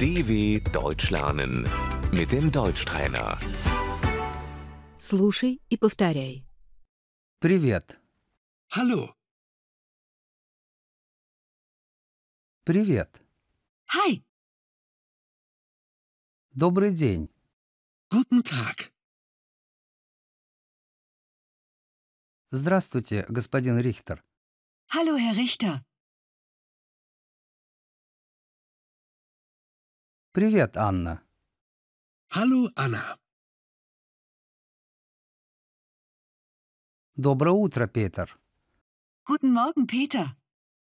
DW Deutsch lernen mit dem Deutschtrainer. Слушай и повторяй. Привет. Hallo, Привет. Hi, Добрый день. guten Tag. Здравствуйте, господин Рихтер. hallo Herr Richter. Привет, Анна. Hallo, Anna. Доброе утро, Петер. Guten Morgen, Peter.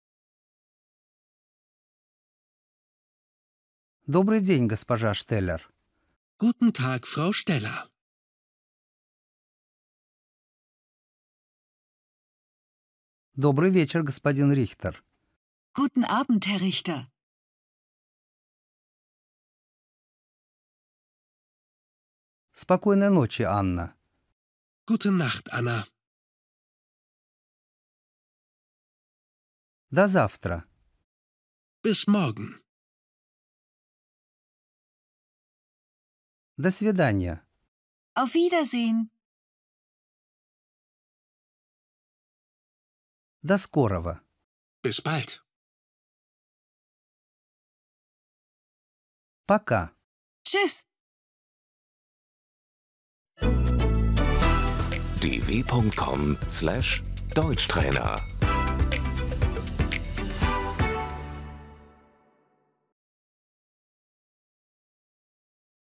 Добрый день, госпожа Штеллер. Guten Tag, Frau Steller. Добрый вечер, господин Рихтер. Guten Abend, Herr Richter. Спокойной ночи, Анна. Gute Nacht, Anna. До завтра. Bis morgen. До свидания. Auf Wiedersehen. До скорого. Bis bald. Пока. Tschüss. dw.com/Deutschtrainer